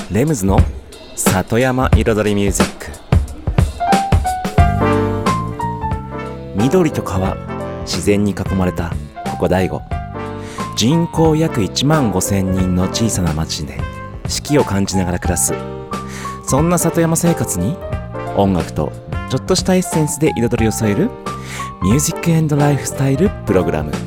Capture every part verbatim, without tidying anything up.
レムズの里山彩りミュージック。緑と川、自然に囲まれたここ大悟。人口約いちまんごせんにんの小さな町で四季を感じながら暮らす、そんな里山生活に音楽とちょっとしたエッセンスで彩りを添えるミュージック&ライフスタイルプログラム。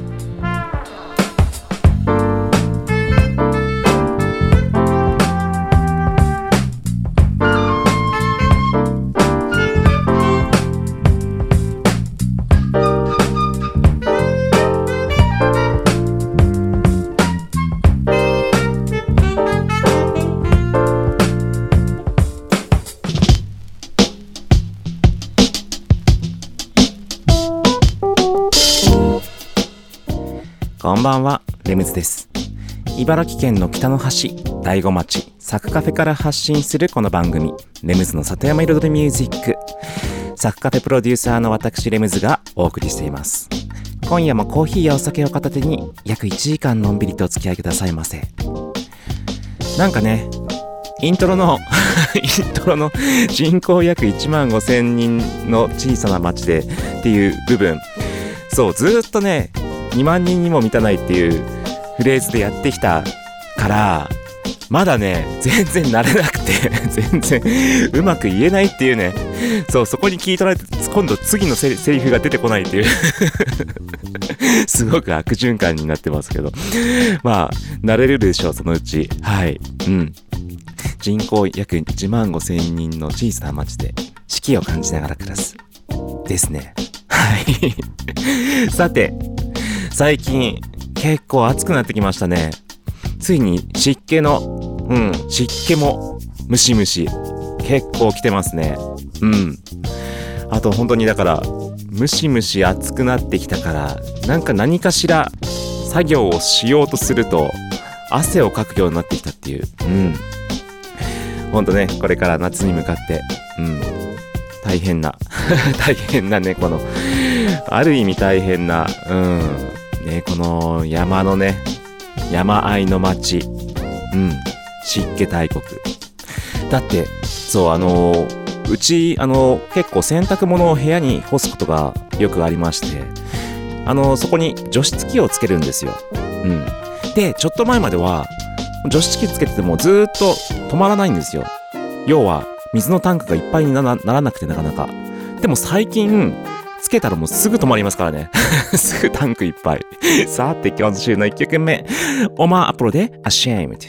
こんばんは、レムズです。茨城県の北の端、大子町、サクカフェから発信するこの番組、レムズの里山彩りミュージック。サクカフェプロデューサーの私レムズがお送りしています。今夜もコーヒーやお酒を片手に約いちじかんのんびりとお付き合いくださいませ。なんかね、イントロのイントロの人口約いちまんごせんにんの小さな町でっていう部分、そうずーっとねにまんにんにも満たないっていうフレーズでやってきたからまだね全然慣れなくて全然うまく言えないっていうね。そう、そこに聞い取られて今度次のセリ、セリフが出てこないっていうすごく悪循環になってますけど、まあ慣れるでしょう、そのうち。はい、うん。人口約いちまんごせんにんの小さな町で四季を感じながら暮らすですね。はいさて、最近結構暑くなってきましたね。ついに湿気のうん湿気もムシムシ結構来てますね。うん。あと本当にだからムシムシ暑くなってきたから、なんか何かしら作業をしようとすると汗をかくようになってきたっていう。うん。本当ね、これから夏に向かってうん大変な大変なね、このある意味大変なうんね、この山のね山あいの町、うん湿気大国だって。そう、あのー、うちあのー、結構洗濯物を部屋に干すことがよくありまして、あのー、そこに除湿機をつけるんですよ。うんで、ちょっと前までは除湿機つけててもずーっと止まらないんですよ。要は水のタンクがいっぱいになら、ならなくてなかなか。でも最近つけたらもうすぐ止まりますからねすぐタンクいっぱいさて、今週のいっきょくめ、オマーアプロで Ashamed。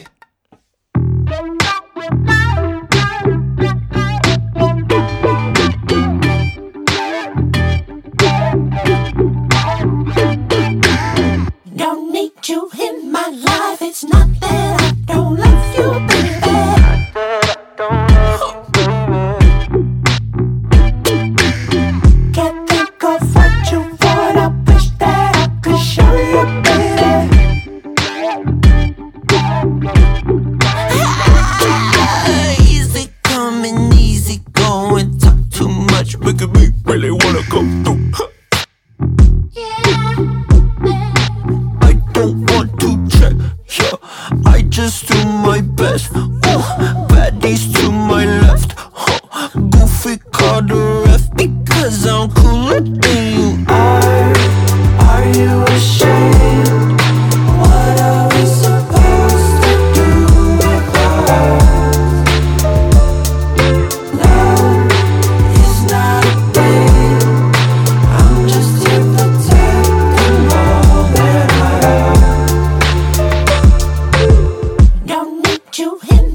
Don't need you in my life. It's not that I don't love you, baby. Can't think of what you want. I wish that I could show you, baby. Easy coming, easy going. Talk too much, making me really wanna come through. I just do my best. Ooh, baddies to my left. Huh. Goofy called the ref because I'm cooler than you are. Are you ashamed? What are we supposed to do with us? Love is not a game. I'm just here protecting all that I have. Don't need you in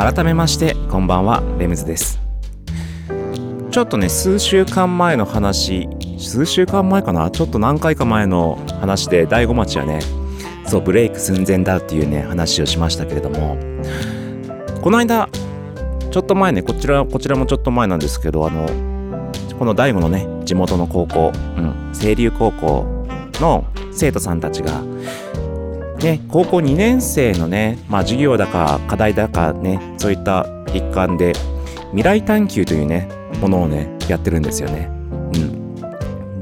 改めましてこんばんは、レムズです。ちょっとね数週間前の話数週間前かなちょっと何回か前の話で大子町はねそうブレイク寸前だっていうね話をしましたけれども、この間ちょっと前ねこちらこちらもちょっと前なんですけど、あのこの大子のね地元の高校、うん、清流高校の生徒さんたちがね、高校にねん生のね、まあ授業だか課題だかね、そういった一環で未来探求というねものをねやってるんですよね。うん。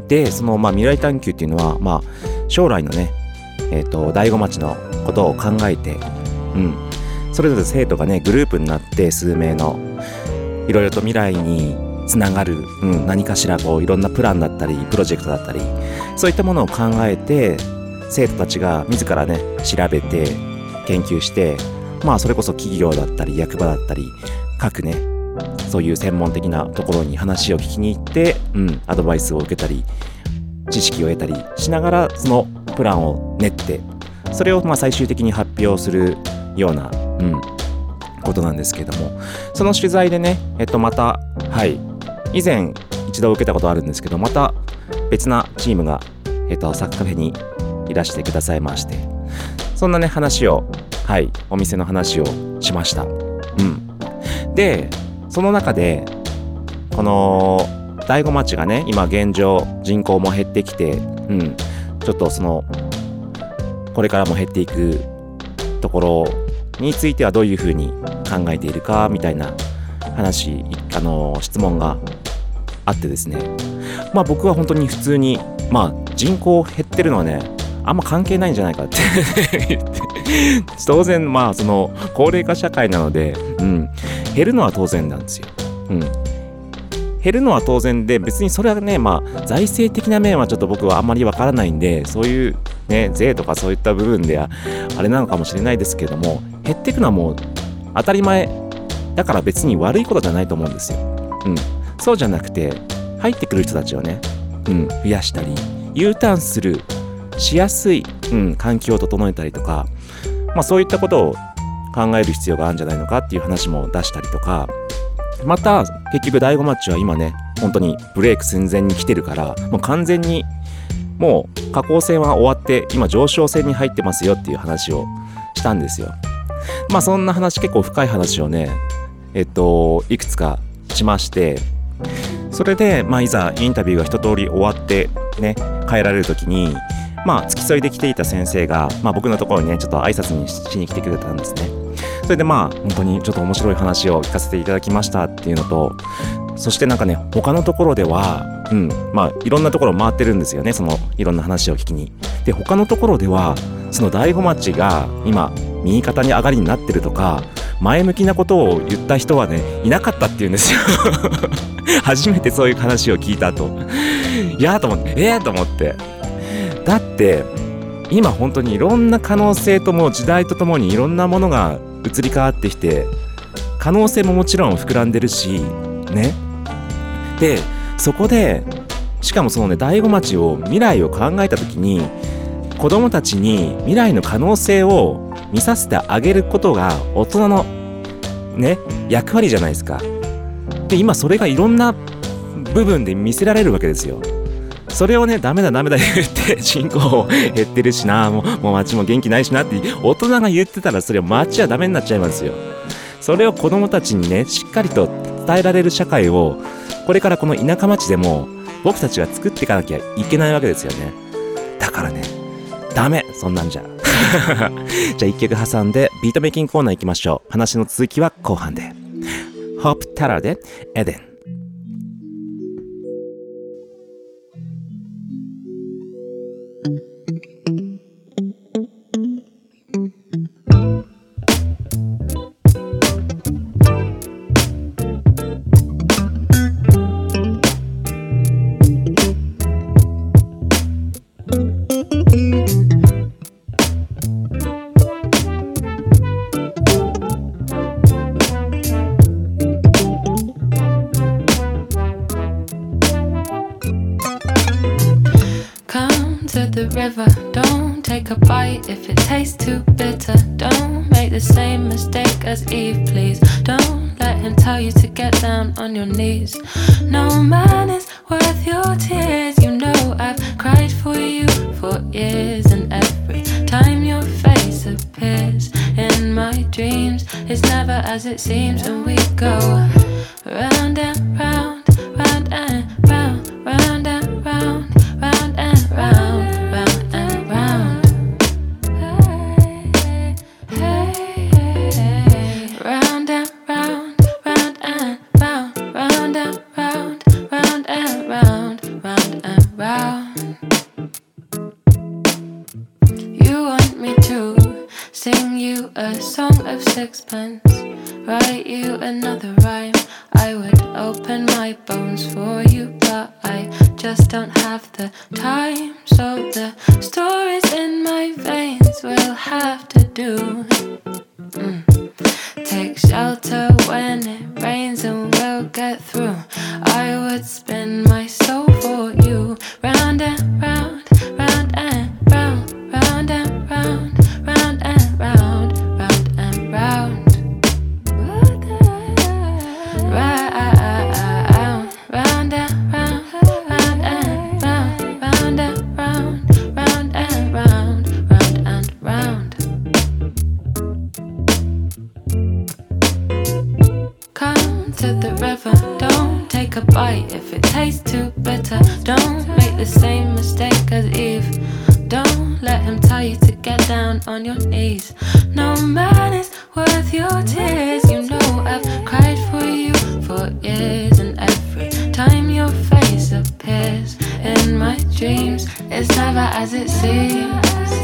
で、そのまあ未来探求っていうのはまあ将来のね、えっと大子町のことを考えて、うん、それぞれ生徒がねグループになって数名のいろいろと未来につながる、うん、何かしらこういろんなプランだったりプロジェクトだったりそういったものを考えて。生徒たちが自らね調べて研究して、まあそれこそ企業だったり役場だったり各ねそういう専門的なところに話を聞きに行って、うん、アドバイスを受けたり知識を得たりしながらそのプランを練ってそれをまあ最終的に発表するような、うん、ことなんですけれども、その取材でねえっとまたはい以前一度受けたことあるんですけど、また別なチームがえっとサッカフェにいらしてくださいまして、そんなね話をはいお店の話をしました。うんでその中でこの大子町がね今現状人口も減ってきて、うんちょっとそのこれからも減っていくところについてはどういうふうに考えているかみたいな話あの質問があってですね、まあ僕は本当に普通にまあ人口減ってるのはねあんま関係ないんじゃないかって言って当然まあその高齢化社会なので、うん、減るのは当然なんですよ、うん、減るのは当然で別にそれはねまあ財政的な面はちょっと僕はあんまりわからないんでそういうね税とかそういった部分ではあれなのかもしれないですけども、減っていくのはもう当たり前だから別に悪いことじゃないと思うんですよ、うん、そうじゃなくて入ってくる人たちをね、うん、増やしたり U ターンするしやすい、うん、環境を整えたりとか、まあそういったことを考える必要があるんじゃないのかっていう話も出したりとか、また結局大子町は今ね本当にブレイク寸前に来てるからもう完全にもう下降線は終わって今上昇線に入ってますよっていう話をしたんですよ。まあそんな話結構深い話をねえっといくつかしまして、それでまあいざインタビューが一通り終わってね帰られる時にまあ付き添いで来ていた先生が、まあ、僕のところにねちょっと挨拶にしに来てくれたんですね。それでまあ本当にちょっと面白い話を聞かせていただきましたっていうのと、そしてなんかね他のところではうんまあいろんなところ回ってるんですよね、そのいろんな話を聞きに。で他のところではその大子町が今右肩に上がりになってるとか前向きなことを言った人はねいなかったっていうんですよ初めてそういう話を聞いた後いやーと思ってえーと思ってだって今本当にいろんな可能性とも時代とともにいろんなものが移り変わってきて可能性ももちろん膨らんでるしね。でそこでしかもそのね大子町を未来を考えた時に子供たちに未来の可能性を見させてあげることが大人のね役割じゃないですか。で今それがいろんな部分で見せられるわけですよ。それをねダメだダメだ言って人口減ってるしなもう、もう街も元気ないしなって大人が言ってたらそれは街はダメになっちゃいますよ。それを子供たちにねしっかりと伝えられる社会をこれからこの田舎町でも僕たちは作っていかなきゃいけないわけですよね。だからねダメそんなんじゃじゃあ一曲挟んでビートメイキングコーナー行きましょう。話の続きは後半で。ホープタラーでエデン。 the river, don't take a bite if it tastes too bitter. Don't make the same mistake as Eve, please. Don't let him tell you to get down on your knees. No man is worth your tears. You know I've cried for you for years, and every time your face appears in my dreams, it's never as it seems. And we go round and round, round and round, round and round, round and round, round and round. Hey, hey, hey. Round and round, round and round, round and round, round and round, round and round. You want me to sing you a song of sixpence, write you another rhyme. I would open my bones for you, but I just don't have the time. So the stories in my veins will have to do. Mm. Take shelter when it rains and we'll get through. I would spin my soul for you. Round and round, round and round, round and round, round and round, round and round. A bite if it tastes too bitter. Don't make the same mistake as Eve. Don't let him tell you to get down on your knees. No man is worth your tears. You know I've cried for you for years, and every time your face appears in my dreams, it's never as it seems.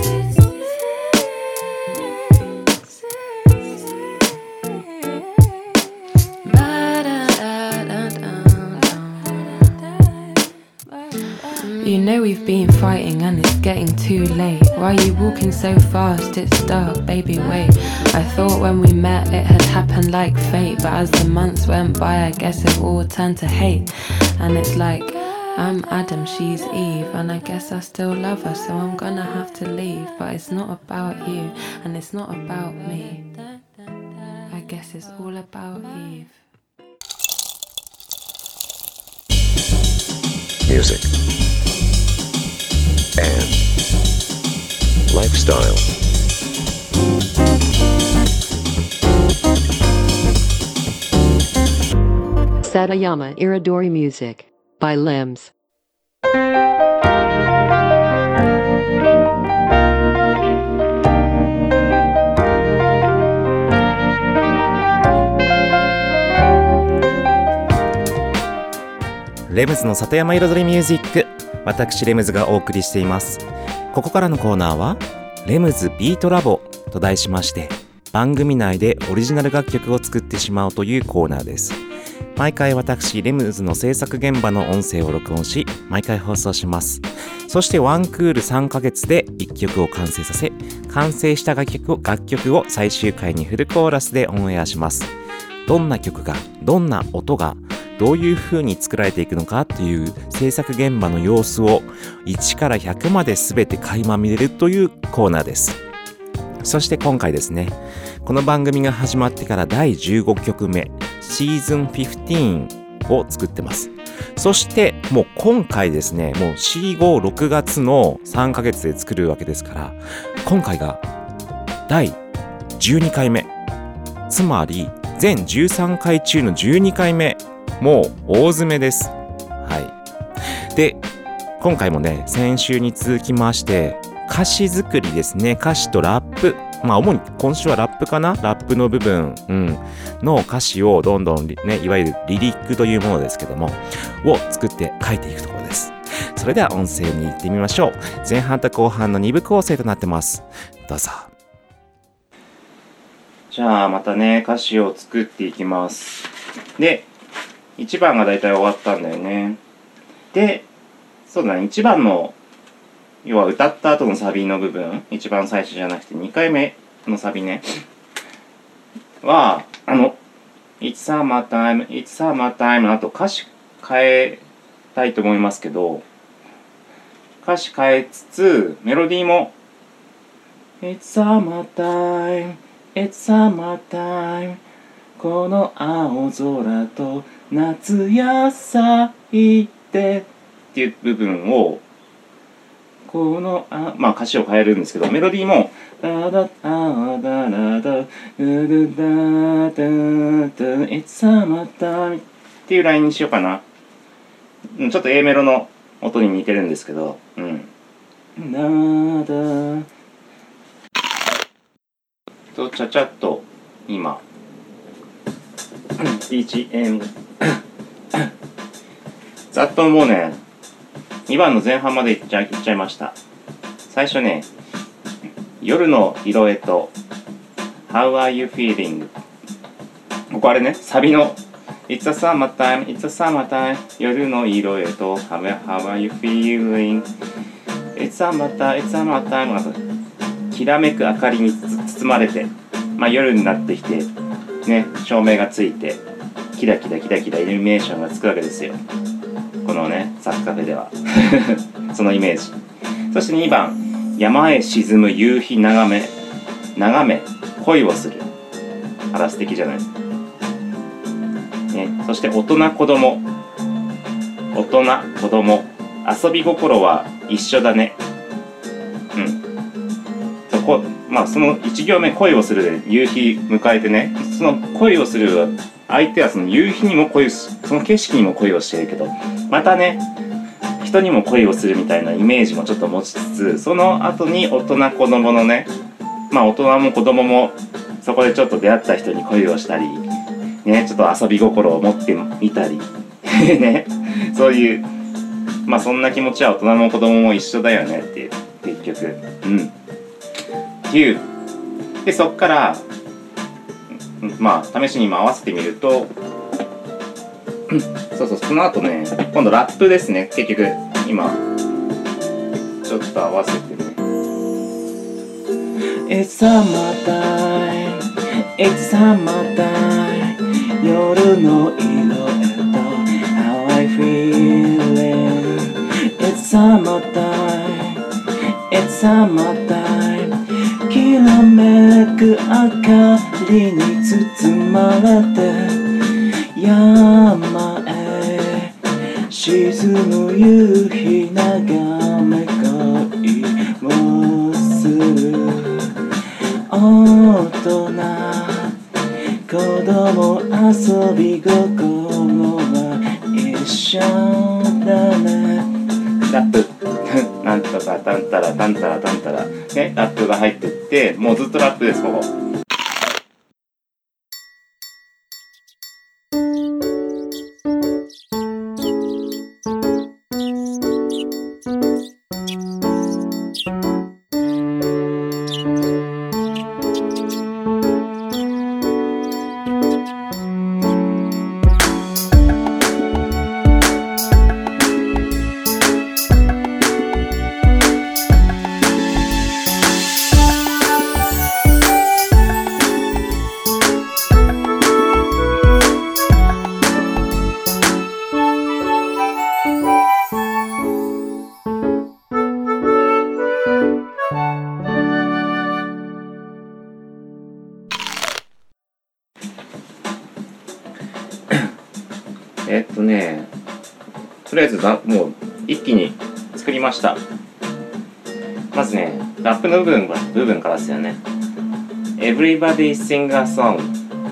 You know we've been fighting and it's getting too late. Why are you walking so fast? It's dark, baby, wait. I thought when we met it had happened like fate, but as the months went by I guess it all turned to hate. And it's like, I'm Adam, she's Eve, and I guess I still love her, so I'm gonna have to leave. But it's not about you, and it's not about me. I guess it's all about Eve. Music and lifestyle. Satayama Iridori Music by Limbs. レムズの里山彩りミュージック、私レムズがお送りしています。ここからのコーナーはレムズビートラボと題しまして、番組内でオリジナル楽曲を作ってしまおうというコーナーです。毎回私レムズの制作現場の音声を録音し、毎回放送します。そしてワンクールさんかげつでいっきょくを完成させ、完成した楽曲を、楽曲を最終回にフルコーラスでオンエアします。どんな曲が、どんな音がどういう風に作られていくのかという制作現場の様子をいちからひゃくまで全て垣間見れるというコーナーです。そして今回ですね、この番組が始まってからだいじゅうごきょくめシーズンじゅうごを作ってます。そしてもう今回ですね、もう シーご、ろくがつのさんかげつで作るわけですから、今回がだいじゅうにかいめ、つまり全じゅうさんかい中のじゅうにかいめ、もう大詰めです。はい。で、今回もね、先週に続きまして歌詞作りですね。歌詞とラップ、まあ主に今週はラップかな、ラップの部分、うん、の歌詞をどんどんね、いわゆるリリックというものですけどもを作って書いていくところです。それでは音声に行ってみましょう。前半と後半のにぶ構成となってます。どうぞ。じゃあまたね、歌詞を作っていきます。で、いちばんがだいたい終わったんだよね。で、そうだね、いちばんの要は歌った後のサビの部分、一番最初じゃなくてにかいめのサビねは、あの It's summertime, It's summertime の後歌詞変えたいと思いますけど、 歌詞変えつつメロディーも It's summertime, it's summertime この青空と夏野菜ってっていう部分をこのあまあ歌詞を変えるんですけど、メロディーもダダダダダダダダダ It's summertime っていうラインにしようかな。ちょっと A メロの音に似てるんですけど、うん。ダダとちゃちゃっと今 ビージーエム ざっともうねにばんの前半までいっちゃい、いっちゃいました。最初ね、夜の色へと How are you feeling? ここあれね、サビの It's a summertime, it's a summertime 夜の色へと How, how are you feeling? It's summertime, it's summertime きらめく明かりに包まれて、まあ夜になってきてね、照明がついてキラキラキラキライルミネーションがつくわけですよ。このね、サッカフェではそのイメージ。そしてにばん、山へ沈む夕日眺め眺め恋をする。あら素敵じゃない、ね、そして大人子供大人子供遊び心は一緒だね。うんそこまあそのいち行目恋をするで夕日迎えてね、その恋をする相手はその夕日にも恋をしその景色にも恋をしているけど、またね人にも恋をするみたいなイメージもちょっと持ちつつ、その後に大人子供のね、まあ大人も子供もそこでちょっと出会った人に恋をしたりね、ちょっと遊び心を持ってみたりね、そういうまあそんな気持ちは大人も子供も一緒だよねっていう結局うんっていうで、そっからまあ試しに今合わせてみるとそうそう、その後ね今度ラップですね。結局今ちょっと合わせてね It's summertime, it's summertime 夜の色へと How I feeling It's summertime, it's summertime きらめく明かりに包まれて山へ沈む夕日眺め恋をする。大人子供遊び心は一緒だね。ラップなんとかタンタラタンタラタンタラね、ラップが入ってってもうずっとラップですここ。えっとね、とりあえずなもう一気に作りました。まずね、ラップの部分は部分からですよね。Everybody sing a song.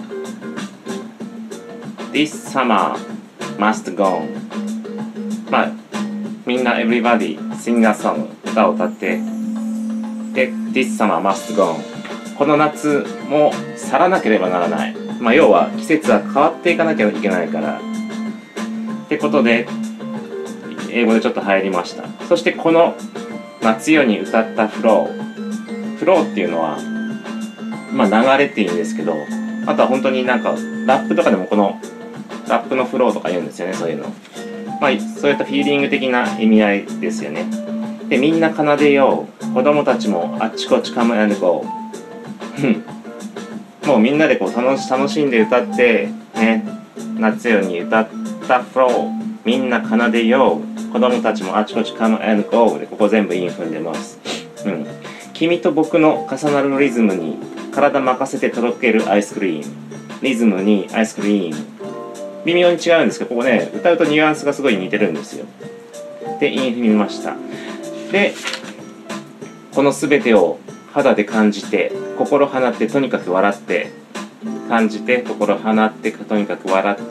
This summer must go on. まあみんな Everybody sing a song 歌を歌ってで This summer must go on. この夏も去らなければならない。まあ要は季節は変わっていかなきゃいけないから。ってことで英語でちょっと入りました。そしてこの夏夜に歌ったフローフローっていうのはまあ流れっていうんですけど、あとは本当になんかラップとかでもこのラップのフローとか言うんですよね。そういうのまあそういったフィーリング的な意味合いですよね。でみんな奏でよう、子供たちもあっちこっちカムアンドゴーもうみんなでこう楽し楽しんで歌ってね、夏夜に歌ってフローみんな奏でよう、子供たちもあちこち come and go で、ここ全部韻踏んでます。うん。君と僕の重なるリズムに体任せてとろけるアイスクリーム、リズムにアイスクリーム、微妙に違うんですけど、ここね歌うとニュアンスがすごい似てるんですよ。で韻踏みました。でこの全てを肌で感じて心放ってとにかく笑って、感じて心放ってとにかく笑って、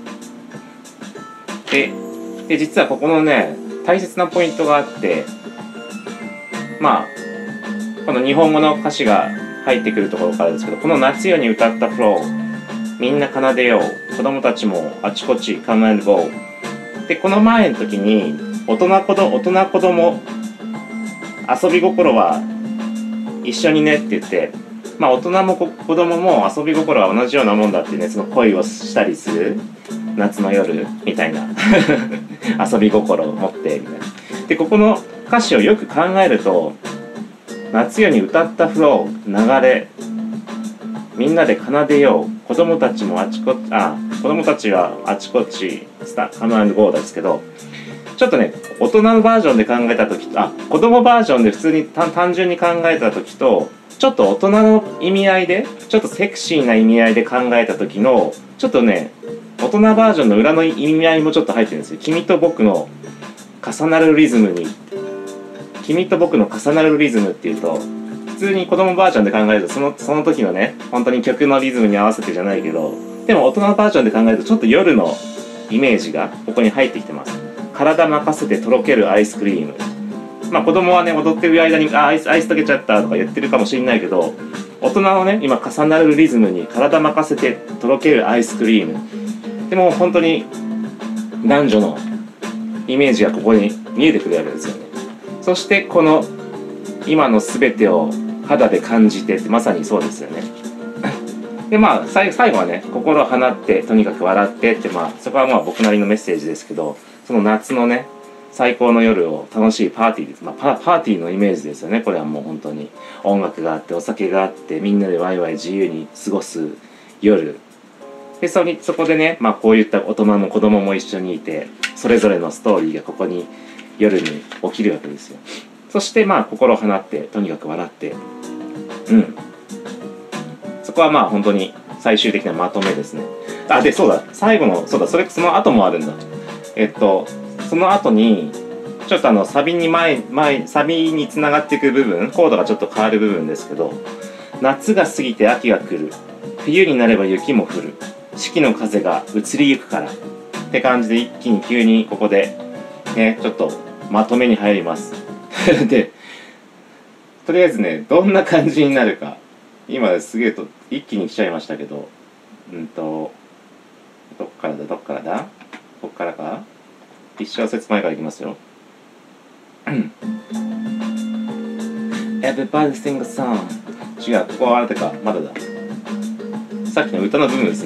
でで実はここのね大切なポイントがあって、まあこの日本語の歌詞が入ってくるところからですけど、この夏夜に歌ったフロー、みんな奏でよう、子供たちもあちこち come and go で、この前の時に大人子供大人子供遊び心は一緒にねって言って、まあ大人も子供も遊び心は同じようなもんだってね、その恋をしたりする夏の夜みたいな遊び心を持ってみたいな。でここの歌詞をよく考えると、夏夜に歌ったフロー、流れ、みんなで奏でよう、子供たちもあちこち、あ、子供たちはあちこちスタカムアンドゴーですけど、ちょっとね大人のバージョンで考えた時と、あ、子供バージョンで普通に単純に考えた時と、ちょっと大人の意味合いで、ちょっとセクシーな意味合いで考えた時の、ちょっとね大人バージョンの裏の意味合いもちょっと入ってるんですよ。君と僕の重なるリズムに、君と僕の重なるリズムっていうと、普通に子供バージョンで考えるとそのその時のね本当に曲のリズムに合わせてじゃないけど、でも大人バージョンで考えるとちょっと夜のイメージがここに入ってきてます。体任せてとろけるアイスクリーム。まあ子供はね踊ってる間にあアイスアイス溶けちゃったとか言ってるかもしれないけど、大人のね今重なるリズムに体任せてとろけるアイスクリームでも本当に男女のイメージがここに見えてくるわけですよね。そしてこの今の全てを肌で感じてって、まさにそうですよね。でまあ最後はね心を放ってとにかく笑ってって、まあそこはまあ僕なりのメッセージですけど、その夏のね最高の夜を楽しいパーティーです、まあ、パ, パーティーのイメージですよね。これはもう本当に音楽があってお酒があってみんなでワイワイ自由に過ごす夜で、 そ, にそこでね、まあ、こういった大人も子供も一緒にいて、それぞれのストーリーがここに夜に起きるわけですよ。そしてまあ心を放ってとにかく笑って、うんそこはまあ本当に最終的なまとめですね。あでそうだ最後のそうだそれその後もあるんだ。えっとその後にちょっとあのサビに前前サビにつながっていく部分、コードがちょっと変わる部分ですけど、夏が過ぎて秋が来る、冬になれば雪も降る、四季の風が移りゆくからって感じで、一気に急にここでねちょっとまとめに入りますでとりあえずねどんな感じになるか今すげえと一気に来ちゃいましたけど、うんとどっからだどっからだこっからか、一小節前からいきますよEverybody sing a song。 違う、ここはあれか、まだだ、さっきの歌の部分です。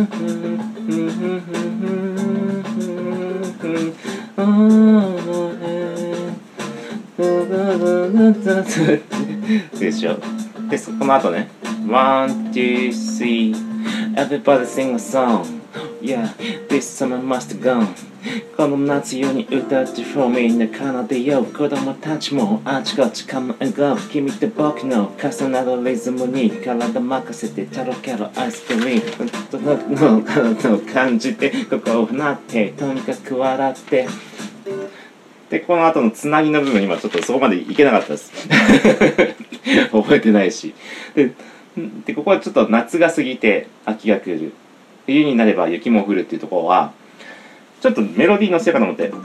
でしょ。で、この後ね One, two, three Everybody sing a song Yeah, this summer must go この夏夜に歌って For me みんな奏でよう、子供たちもあちこち Come and go 君と僕の重なるリズムに体任せてとろけるアイスクリームの体を感じて心を放ってとにかく笑ってで、この後のつなぎの部分今ちょっとそこまでいけなかったです覚えてないしででここはちょっと夏が過ぎて秋が来る、冬になれば雪も降るっていうところはちょっとメロディーのせようかと思って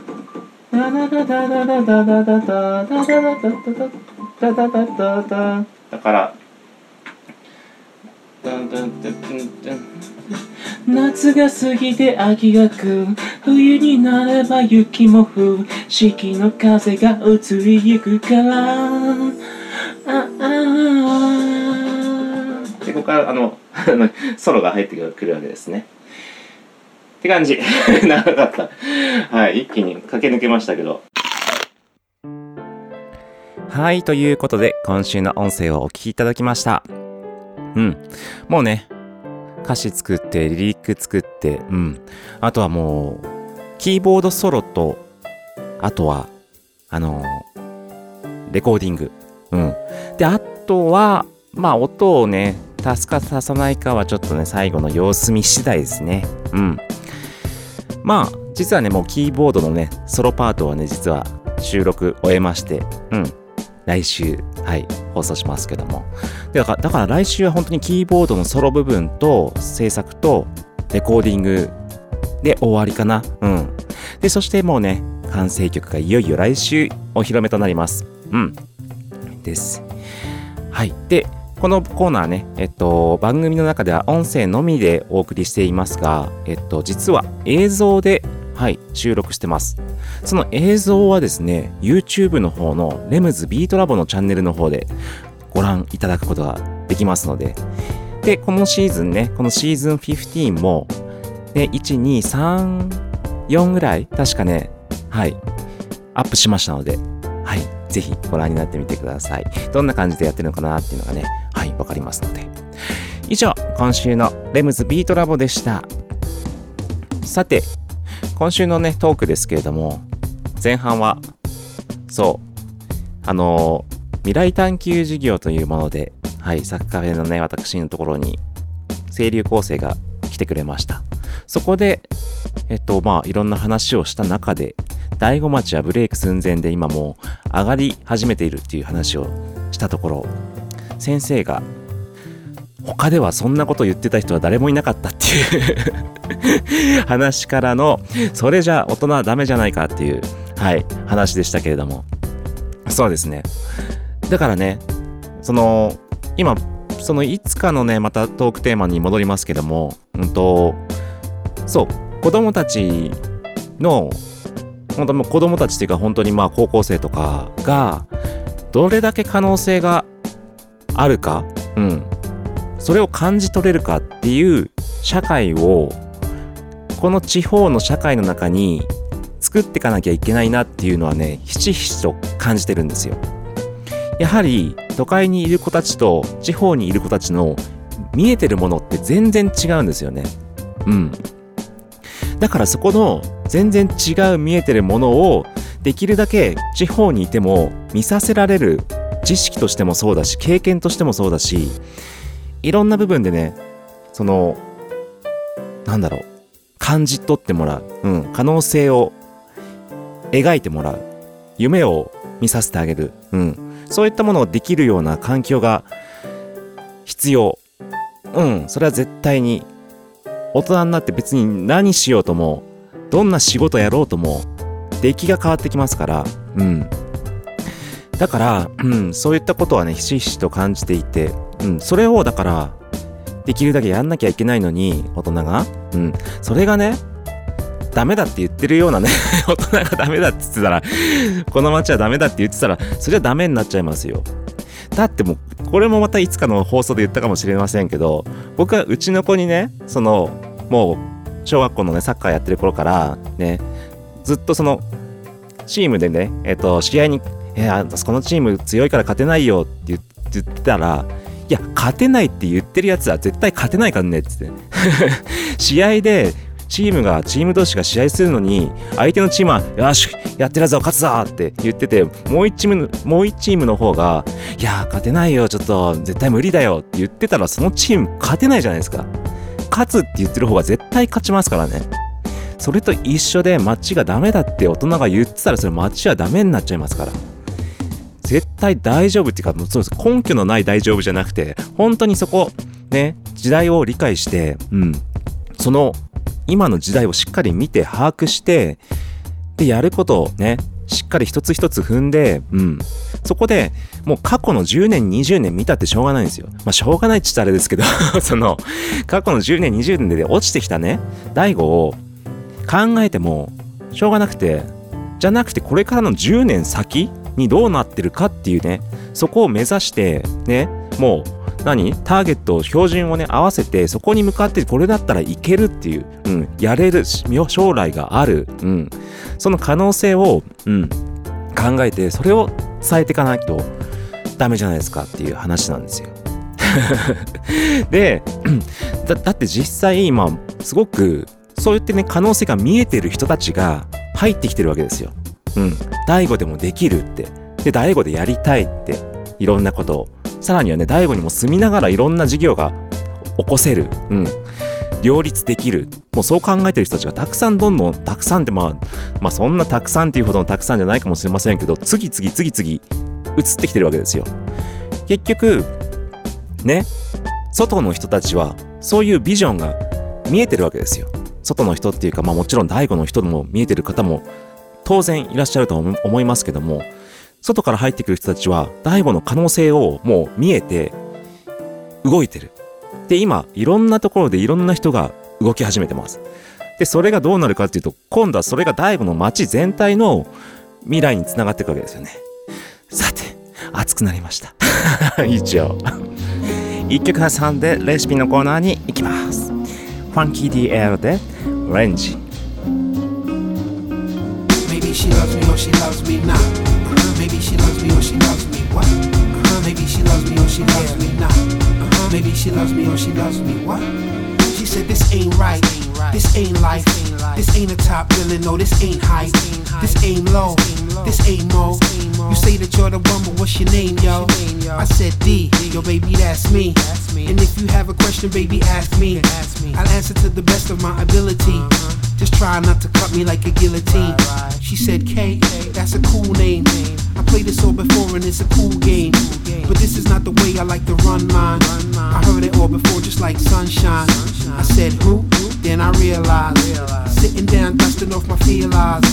だから夏が過ぎて秋が来る、冬になれば雪も降る、四季の風が移りゆくからああでここからあのソロが入ってくるわけですねって感じ長かったはい一気に駆け抜けましたけど。はいということで今週の音声をお聞きいただきました。うんもうね歌詞作ってリリック作ってうんあとはもうキーボードソロと、あとは、あのー、レコーディング。うん。で、あとは、まあ、音をね、足すか足さないかはちょっとね、最後の様子見次第ですね。うん。まあ、実はね、もうキーボードのね、ソロパートはね、実は収録終えまして、うん。来週、はい、放送しますけども。だから、だから来週は本当にキーボードのソロ部分と制作とレコーディングで終わりかな。うん。で、そしてもうね、完成曲がいよいよ来週お披露目となります。うん。です。はい。で、このコーナーね、えっと、番組の中では音声のみでお送りしていますが、えっと、実は映像で、はい、収録してます。その映像はですね、YouTube の方のレムズビートラボのチャンネルの方でご覧いただくことができますので、で、このシーズンね、このシーズンじゅうごも、ね、いち、に、さん、よんぐらい確かね、はい、アップしましたので、はい、ぜひご覧になってみてください。どんな感じでやってるのかなっていうのがね、はい、わかりますので。以上、今週のレムズビートラボでした。さて、今週のね、トークですけれども、前半は、そう、あのー、未来探求事業というもので、はい、サッカフェのね、私のところに、清流高生が来てくれました。そこで、えっと、まあ、いろんな話をした中で、大子町はブレイク寸前で今もう上がり始めているっていう話をしたところ、先生が、他ではそんなこと言ってた人は誰もいなかったっていう話からの、それじゃ大人はダメじゃないかっていう、はい、話でしたけれども。そうですね。だからね、その、今、そのいつかのね、またトークテーマに戻りますけども、うんと、そう、子供たちの、本当に子供たちっていうか本当にまあ高校生とかが、どれだけ可能性があるか、うん。それを感じ取れるかっていう社会を、この地方の社会の中に作っていかなきゃいけないなっていうのはね、ひしひしと感じてるんですよ。やはり都会にいる子たちと地方にいる子たちの見えてるものって全然違うんですよね。うん。だからそこの全然違う見えてるものをできるだけ地方にいても見させられる、知識としてもそうだし、経験としてもそうだし、いろんな部分でね、その、なんだろう、感じ取ってもらう、うん、可能性を描いてもらう、夢を見させてあげる、うん、そういったものをできるような環境が必要。うん、それは絶対に大人になって別に何しようとも、どんな仕事やろうとも、出来が変わってきますから、うん。だから、うん、そういったことはね、ひしひしと感じていて、うん、それをだから、できるだけやんなきゃいけないのに、大人が、うん、それがね、ダメだって言ってるようなね、大人がダメだって言ってたら、この街はダメだって言ってたら、それはダメになっちゃいますよ。だってもう、これもまたいつかの放送で言ったかもしれませんけど、僕はうちの子にね、その、もう、小学校のね、サッカーやってる頃から、ね、ずっとその、チームでね、えっと、試合に、えー、このチーム強いから勝てないよって言ってたら、いや、勝てないって言ってるやつは絶対勝てないからねって言って。試合で、チームが、チーム同士が試合するのに、相手のチームは、よし、やってるぞ、勝つぞって言ってて、もう一チーム、もう一チームの方が、いや、勝てないよ、ちょっと、絶対無理だよって言ってたら、そのチーム勝てないじゃないですか。勝つって言ってる方が絶対勝ちますからね。それと一緒で、街がダメだって大人が言ってたら、それ街はダメになっちゃいますから。絶対大丈夫っていうか、そうです。根拠のない大丈夫じゃなくて、本当にそこ、ね、時代を理解して、うん、その、今の時代をしっかり見て把握して、で、やることをね、しっかり一つ一つ踏んで、うん。そこで、もう過去のじゅうねん、にじゅうねん見たってしょうがないんですよ。まあ、しょうがないって言ったらあれですけど、その、過去のじゅうねん、にじゅうねんで落ちてきたね、大悟を考えても、しょうがなくて、じゃなくてこれからのじゅうねん先にどうなってるかっていうね、そこを目指して、ね、もう、何ターゲットを標準をね合わせてそこに向かってこれだったらいけるっていう、うん、やれる将来がある、うん、その可能性を、うん、考えてそれを伝えていかないとダメじゃないですかっていう話なんですよ。で だ, だって実際今すごくそうやってね可能性が見えてる人たちが入ってきてるわけですよ。うん、大悟でもできるって、で大悟でやりたいって、いろんなことを、さらにはね大悟にも住みながらいろんな事業が起こせる、うん、両立できる、もうそう考えてる人たちがたくさん、どんどんたくさんって、まあまあそんなたくさんっていうほどのたくさんじゃないかもしれませんけど、次々次々移ってきてるわけですよ。結局ね、外の人たちはそういうビジョンが見えてるわけですよ。外の人っていうか、まあもちろん大悟の人も見えてる方も当然いらっしゃると思いますけども、外から入ってくる人たちは大悟の可能性をもう見えて動いてる。で、今いろんなところでいろんな人が動き始めてます。で、それがどうなるかっていうと、今度はそれが大悟の街全体の未来につながっていくわけですよね。さて、熱くなりました。一応一曲挟んでレシピのコーナーに行きます。ファンキー ディーエル でレンジ。 Maybe she loves me or she loves me not. Uh-huh. Maybe she loves me or she loves me what? Uh-huh. Maybe she loves me or she loves me not. Uh-huh. Maybe she loves me or she loves me what? She said this ain't right, this ain't life, this ain't a top billing, no this ain't hype, this ain't low, this ain't mo. You say that you're the one, but what's your name, yo? I said D, yo baby that's me. And if you have a question, baby ask me. I'll answer to the best of my ability. Just try not to cut me like a guillotine. She said K, that's a cool name. I played this all before and it's a cool game, but this is not the way I like to run mine. I heard it all before just like sunshine. I said who? Then I realized, sitting down dusting off my feelers,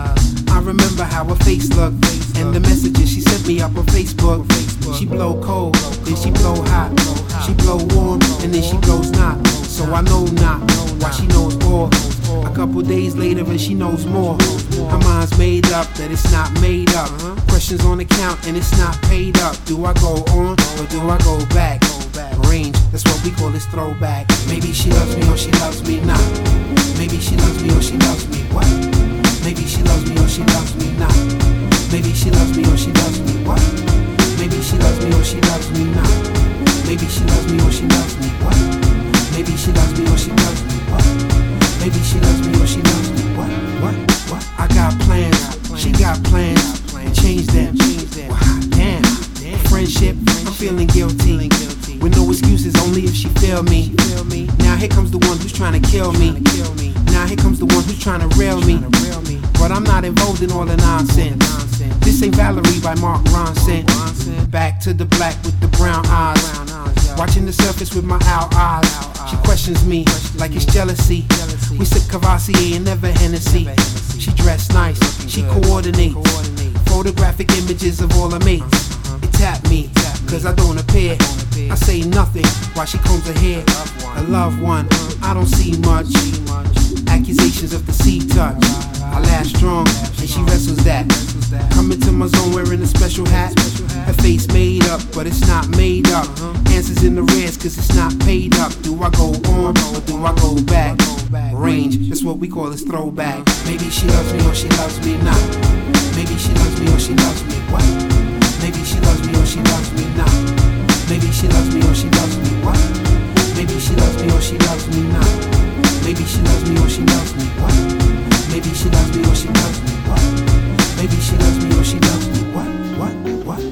I remember how her face looked and the messages she sent me up on Facebook. She blow cold, then she blow hot. She blow warm, and then she blows not. So I know not why she knows all. A couple days later and she knows more. Her mind's made up that it's not made up. Questions on the count and it's not paid up. Do I go on or do I go back? Range, that's what we call this throwback. Maybe she loves me or she loves me not. Maybe she loves me or she loves me what? Maybe she loves me or she loves me not. Maybe she loves me or she loves me what? Maybe she loves me or she loves me not. Maybe she loves me or she loves me what? Maybe she loves me or she loves me what? Maybe she loves me or she loves me what? What? What? I got plans, she got plans. Change them. Well, hot damn. Friendship, I'm feeling guilty. With no excuses, only if she feel me. Now here comes the one who's trying to kill me. Now here comes the one who's trying to rail me. But I'm not involved in all the nonsense. This ain't Valerie by Mark Ronson. Back to the black with the brown eyes. Watching the surface with my owl eyes. She questions me like it's jealousy. We sip Cavassier and never Hennessy. She dressed nice, she coordinate. Photographic images of all her mates. It tapped me, cause I don't appear. I say nothing while she combs her hair. A loved one, I don't see much. Accusations of the C-touch. I laugh strong, and she wrestles that. Coming to my zone wearing a special hat. Her face made up, but it's not made up. Answers in the reds, cause it's not paid up. Do I go on, or do I go back? Range, that's what we call this throwback. Maybe she loves me or she loves me not. Maybe she loves me or she loves me what? Maybe she loves me or she loves me not. Maybe she loves me or she loves me what? Maybe she loves me or she loves me not. Maybe she loves me or she loves me what? Maybe she loves me or she loves me what? Maybe she loves me or she loves me what? What? What?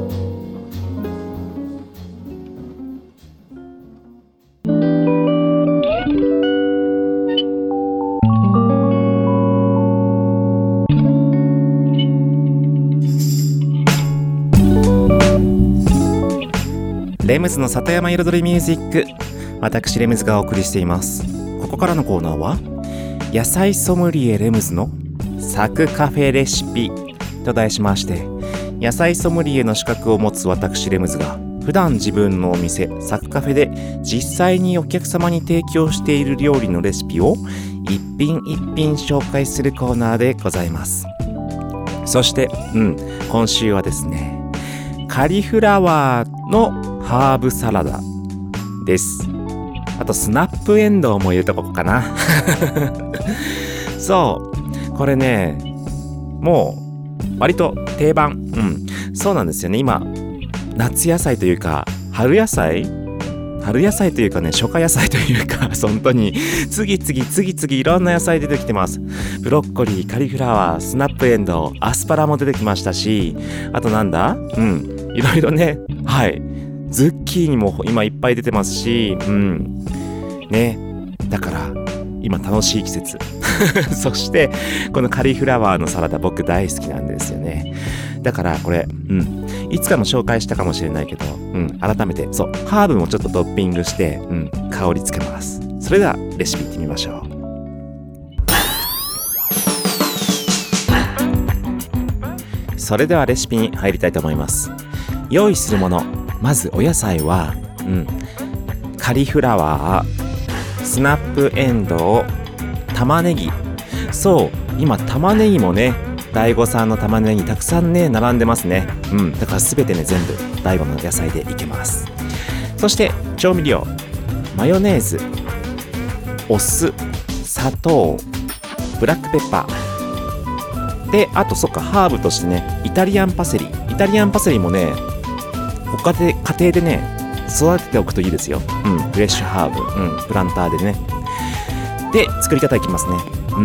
レムズの里山彩りミュージック、私レムズがお送りしています。ここからのコーナーは野菜ソムリエレムズのサクカフェレシピと題しまして、野菜ソムリエの資格を持つ私レムズが普段自分のお店サクカフェで実際にお客様に提供している料理のレシピを一品一品紹介するコーナーでございます。そしてうん今週はですね、カリフラワーのハーブサラダです。あとスナップエンドウも入れとこうかな。そうこれね、もう割と定番。うんそうなんですよね。今夏野菜というか春野菜春野菜というかね、初夏野菜というか、本当に次々次々いろんな野菜出てきてます。ブロッコリー、カリフラワー、スナップエンドウ、アスパラも出てきましたし、あとなんだうん、いろいろね、はい。ズッキーニも今いっぱい出てますし、うん。ね。だから、今楽しい季節。そして、このカリフラワーのサラダ僕大好きなんですよね。だからこれ、うん。いつかも紹介したかもしれないけど、うん。改めて、そう、ハーブもちょっとトッピングして、うん。香りつけます。それでは、レシピいってみましょう。それではレシピに入りたいと思います。用意するもの。まずお野菜は、うん。カリフラワー、スナップエンドウ、玉ねぎ。そう、今玉ねぎもね、大悟さんの玉ねぎたくさんね、並んでますね。うん、だからすべてね、全部大悟の野菜でいけます。そして調味料、マヨネーズ、お酢、砂糖、ブラックペッパー。で、あとそっか、ハーブとしてね、イタリアンパセリ。イタリアンパセリもね、ご家庭、家庭でね、育てておくといいですよ。うん、フレッシュハーブ、うん、プランターでね。で、作り方いきますね。うん。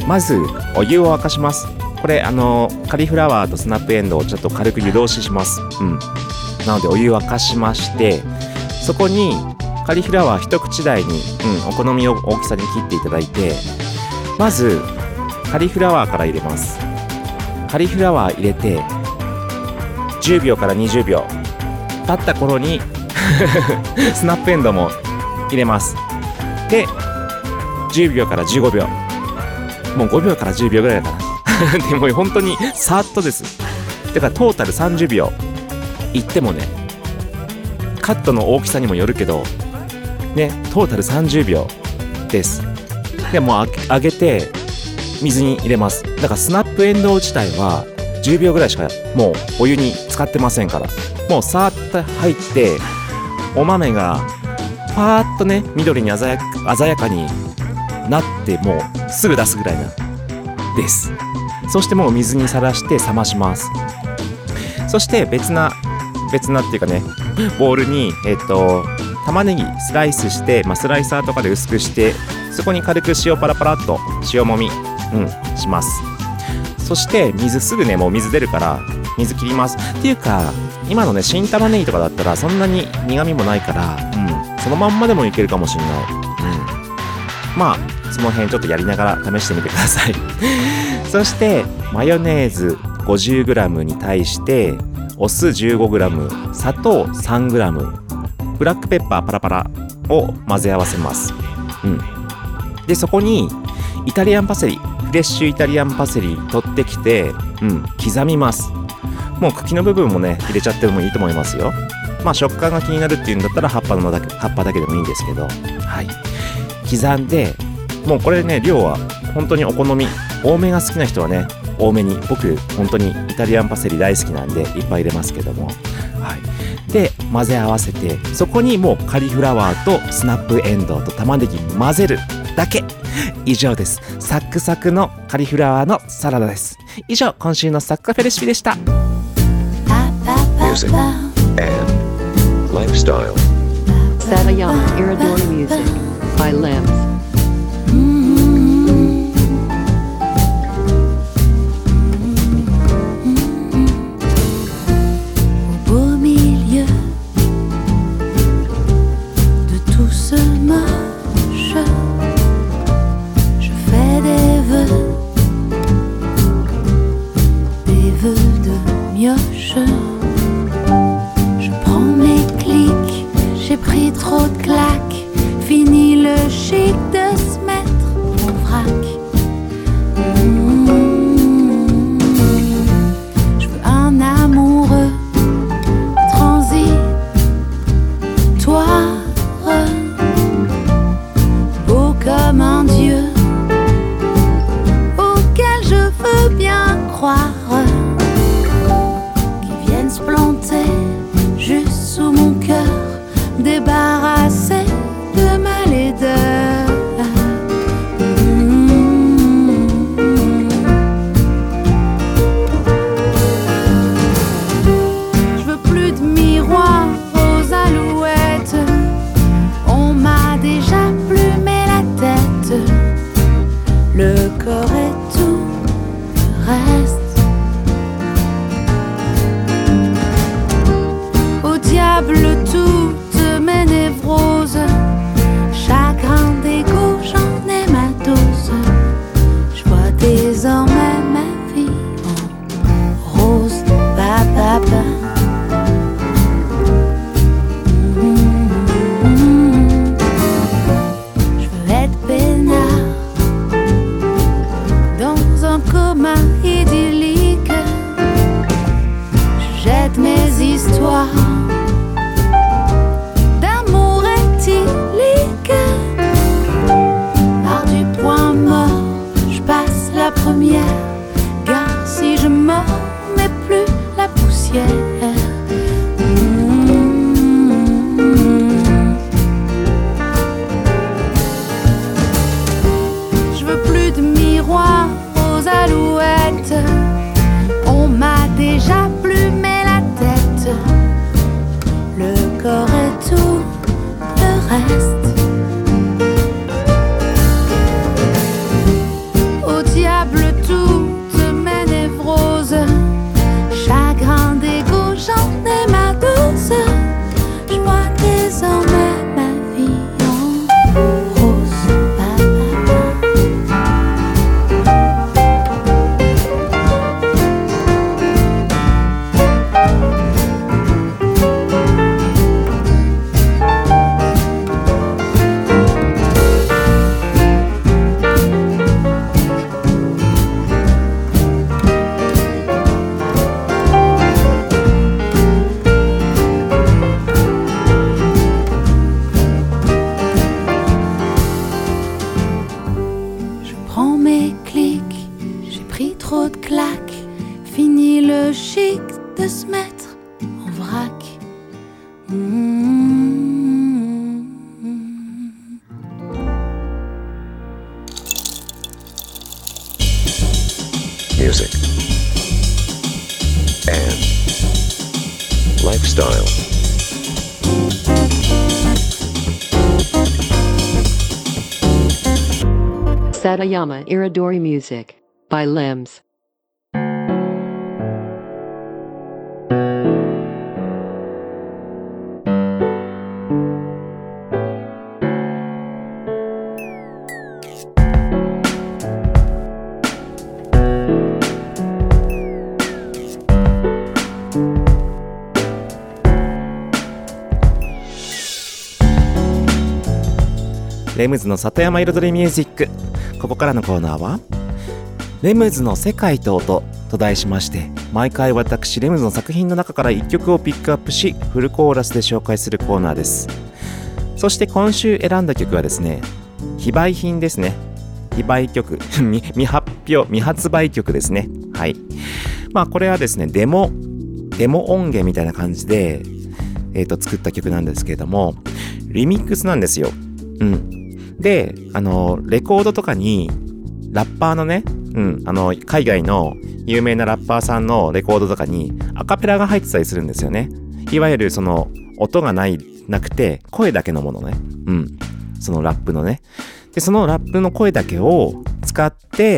まず、お湯を沸かします。これ、あの、カリフラワーとスナップエンドウをちょっと軽く湯通しします。うん。なので、お湯を沸かしまして、そこに、カリフラワー一口大に、うん、お好みの大きさに切っていただいて、まず、カリフラワーから入れます。カリフラワー入れて、じゅうびょうからにじゅうびょう。経った頃に、スナップエンドウも入れます。で、じゅうびょうからじゅうごびょう。もうごびょうからじゅうびょうぐらいだな。でも本当にさーっとです。だからトータルさんじゅうびょういってもね、カットの大きさにもよるけどね、トータルさんじゅうびょうです。でもう揚げて水に入れます。だからスナップエンドウ自体はじゅうびょうぐらいしかもうお湯に使ってませんから、もうさーっと入ってお豆がパーッとね、緑に鮮やか、鮮やかになってもうすぐ出すぐらいなです。そしてもう水にさらして冷まします。そして別な別なっていうかね、ボウルにえっと玉ねぎスライスして、まあ、スライサーとかで薄くして、そこに軽く塩パラパラっと塩もみ、うん、します。そして水すぐね、もう水出るから水切ります。っていうか今のね、新玉ねぎとかだったらそんなに苦味もないから、うん、そのまんまでもいけるかもしれない。うん、まあその辺ちょっとやりながら試してみてください。そしてマヨネーズ ごじゅうグラム に対してお酢 じゅうごグラム、砂糖 さんグラム、ブラックペッパーパラパラを混ぜ合わせます。うん、でそこにイタリアンパセリ、フレッシュイタリアンパセリ取ってきて、うん、刻みます。もう茎の部分もね入れちゃってもいいと思いますよ。まあ食感が気になるっていうんだったら葉っぱのだけ葉っぱだけでもいいんですけど、はい、刻んで、もうこれね、量は本当にお好み、多めが好きな人はね多めに、僕本当にイタリアンパセリ大好きなんでいっぱい入れますけども、はい、で混ぜ合わせて、そこにもうカリフラワーとスナップエンドウと玉ねぎ混ぜるだけ。以上です。サクサクのカリフラワーのサラダです。以上、今週のサクカフェレシピでした。 Music and lifestyle. Satayama Iridori Music by Limbs. Au milieu de tout ce moche, je fais des vœux, des vœux de mioche. Je prends mes clics, j'ai pris trop de claques, fini le chic de Music and lifestyle. Satayama Iridori Music by Lems. レムズの里山彩りミュージック。ここからのコーナーはレムズの世界と音と題しまして、毎回私レムズの作品の中からいっきょくをピックアップし、フルコーラスで紹介するコーナーです。そして今週選んだ曲はですね、非売品ですね。非売曲未, 未発表未発売曲ですね。はい。まあこれはですね、デモデモ音源みたいな感じで、えーと作った曲なんですけれども、リミックスなんですよ。うん。で、あのレコードとかにラッパーのね、うん、あの海外の有名なラッパーさんのレコードとかにアカペラが入ってたりするんですよね。いわゆるその音がないなくて声だけのものね。うん。そのラップのね。で、そのラップの声だけを使って、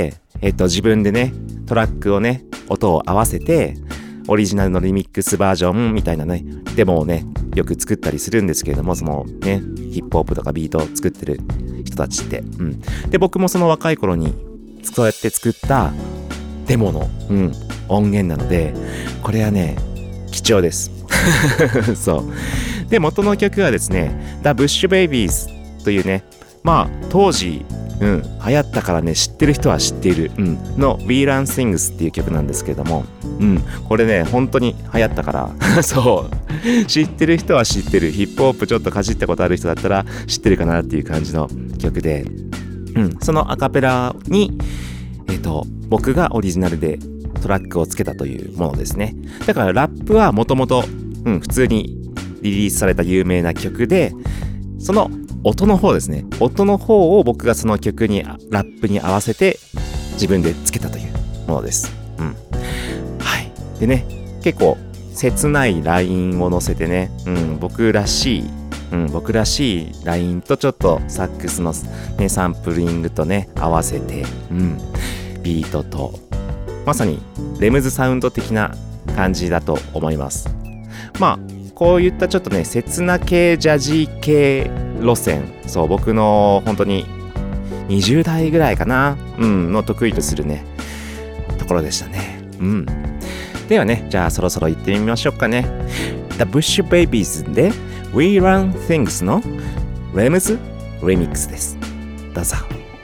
えっと自分でねトラックをね音を合わせてオリジナルのリミックスバージョンみたいなねデモをねよく作ったりするんですけれども、そのねヒップホップとかビートを作ってる人たちって、うん、で僕もその若い頃にそうやって作ったデモの、うん、音源なので、これはね貴重ですそうで、元の曲はですね The Bush Babies というね、まあ当時うん、流行ったからね知ってる人は知っている、うん、の We Run Things っていう曲なんですけれども、うん、これね本当に流行ったからそう知ってる人は知ってる、ヒップホップちょっとかじったことある人だったら知ってるかなっていう感じの曲で、うん、そのアカペラにえっと僕がオリジナルでトラックをつけたというものですね。だからラップはもともと普通にリリースされた有名な曲で、その音の方ですね。音の方を僕がその曲にラップに合わせて自分でつけたというものです。うん。はい。でね、結構切ないラインを乗せてね、うん、僕らしい、うん、僕らしいラインとちょっとサックスのねサンプリングとね合わせて、うん、ビートとまさにレムズサウンド的な感じだと思います。まあこういったちょっとね切な系ジャジー系路線、そう僕の本当ににじゅう代ぐらいかな、うんの得意とするねところでしたね。うん。ではね、じゃあそろそろ行ってみましょうかね。The Bush Babies で We Run Things のレムズリミックスです。どうぞ。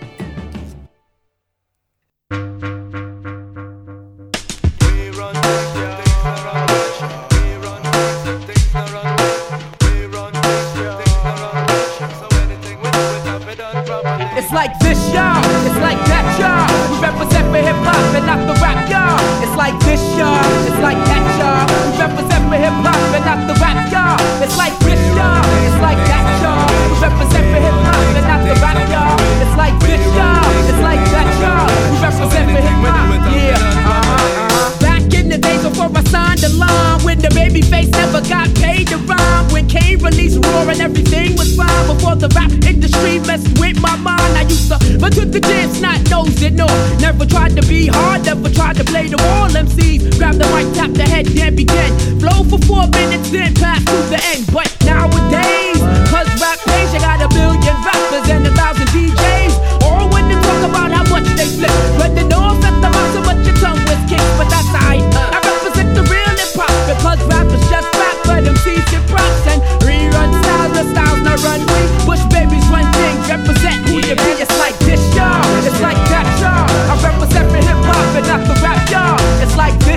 Like this, y'all. It's like that, y'all. We represent for hip hop and not the rap, y'all. It's like this, y'all. It's like that, y'all. We represent for hip hop and not the rap, y'all. It's like this, y'all. It's like that, y'all. We represent for hip hop and not the rap, y'all. It's like this, y'all. It's like that, y'all. We represent for hip hop, yeah. Uh-huh. Back in the days before I signed the line, when the baby face never got paid to rhyme, when Kane released Roar and everything was fine, before the rap industry messed with my mind, I used to but took the chance, not nosed it, no. Never tried to be hard, never tried to play the wall. M Cs grab the mic, tap the head, then begin. Flow for four minutes, then pass to the end. But nowadays, cause rap page, you got a billion rappers and a thousand D Js. All when they talk about how much they flip, but they know that the mouth so much your tongue was kicked. But that's alright, I represent the real hip hop, because rappers just rap, but M Cs get props and rerun styles, the styles not run free. Bush Babies run things, represent who you be. It's like this, y'all. It's like that, y'all. I represent for hip hop and not the rap, y'all. It's like this.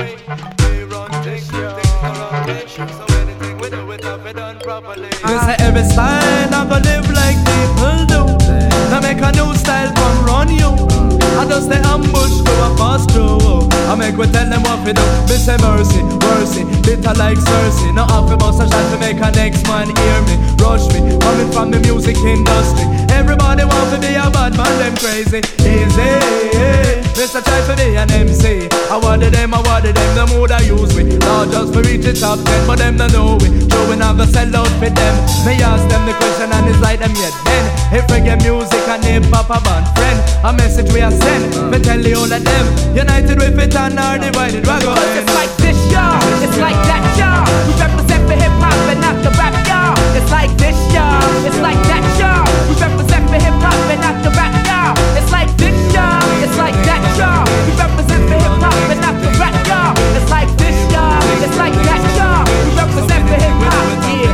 way. We run things, things the wrong way. So anything we do, it have it done properly. They say every style I go live like people do. Now make a new style come run you. I just the ambush go a pass through. I make we tell them what we do. Me say mercy, mercy, bitter like Cersei. No half a bust a shot to make a next man hear me. Rush me, coming from the music industry. Everybody want to be a bad man, them crazy. Easy, Mister try to be an M C. I wanted them, I wanted them, the mood I use we. Not just for reach the top ten, but them don't know we. Joe we not gonna sell out for them. Me ask them the question and it's like them yet then. If reggae music and hip hop a band friend, a message we are send. Me tell you all of them, united with it and are divided. We go end. It's like this, y'all. It's like that, y'all. We represent for hip hop and not the rap, y'all. It's like this, y'all. It's like that, y'all. We represent for hip hop and not the rap, y'all. It's like this, y'all. It's like that, y'all. We represent for hip hop and not the rap, y'all. It's like this, y'all. It's like that, y'all. We represent for hip hop,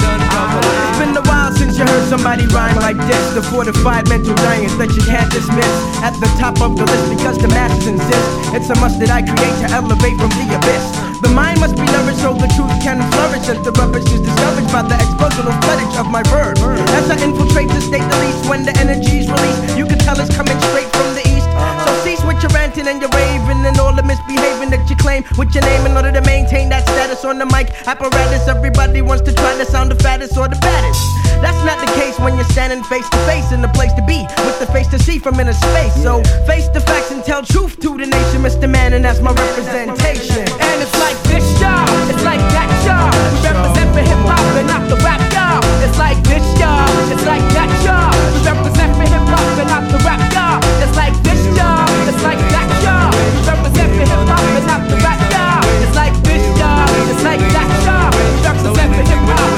yeah. It's been a while since you heard somebody rhyme like this. The fortified mental giants that you can't dismiss. At the top of the list because the masses insist. It's a must that I create to elevate from the abyss. The mind must be nourished so the truth can flourish. As the rubbish is discouraged by the explosional floodage of my verb. As I infiltrate the state the least, when the energy's released, you can tell it's coming straight from the east. So cease with your ranting and your raving and all the misbehaving that you claim with your name in order to maintain that status on the mic apparatus. Everybody wants to try to sound the fattest or the baddest. That's not the case when you're standing face to face in the place to be with the face to see from inner space. So face the facts and tell truth to the nation, Mister Man, and that's my representation. And it's like this, y'all. It's like that, y'all. We represent for hip hop and not the rap, y'all. It's like this, y'all. It's like that, y'all. We represent for hip hop and not the rap, y'all. It's like this, y'all. It's like that, y'all. We represent for hip hop and not the rap, y'all. It's like this, y'all. It's like that, y'all. We represent for hip hop.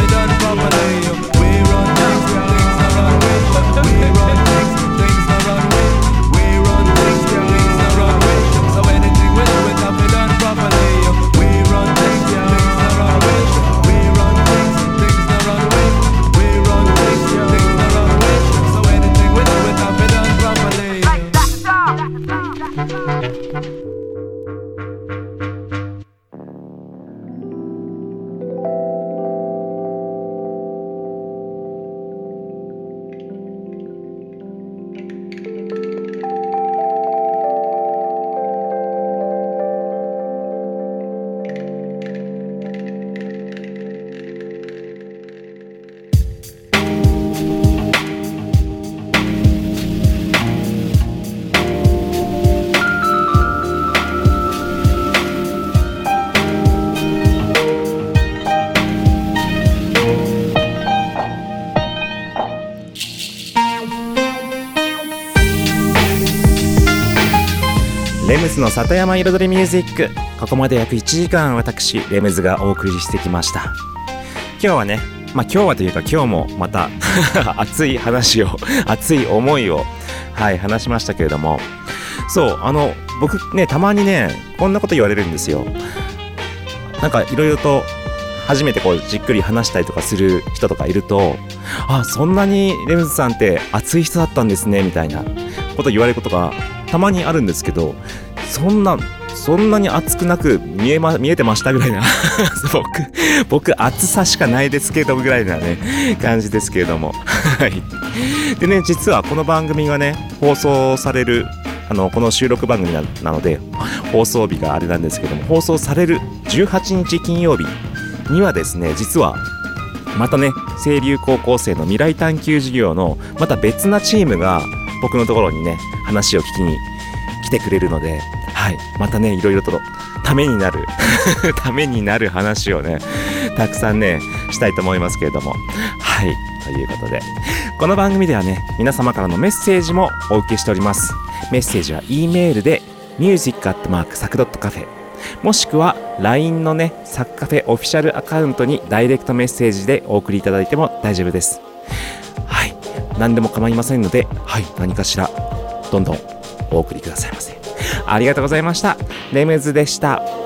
レムズの里山彩りミュージック、ここまで約いちじかん私レムズがお送りしてきました。今日はね、まあ今日はというか今日もまた熱い話を熱い思いをはい話しましたけれども、そうあの僕ねたまにねこんなこと言われるんですよ。なんかいろいろと初めてこうじっくり話したりとかする人とかいると、あ、そんなにレムズさんって熱い人だったんですねみたいなこと言われることがたまにあるんですけど、そんなそんなに熱くなく見えま見えてましたぐらいな僕僕熱さしかないですけどぐらいなね感じですけれどもはいでね、実はこの番組がね放送されるあのこの収録番組 な, なので放送日があれなんですけども、放送されるじゅうはちにち金曜日にはですね、実はまたね清流高校生の未来探究事業のまた別なチームが僕のところにね話を聞きに来てくれるので、はい、またねいろいろとためになるためになる話をねたくさんねしたいと思いますけれども、はい、ということでこの番組ではね皆様からのメッセージもお受けしております。メッセージは E メールで ミュージックアットマークサクドットカフェ もしくは ライン のねサクカフェオフィシャルアカウントにダイレクトメッセージでお送りいただいても大丈夫です。はい、何でも構いませんので、はい、何かしらどんどんお送りくださいませ。ありがとうございました。レムズでした。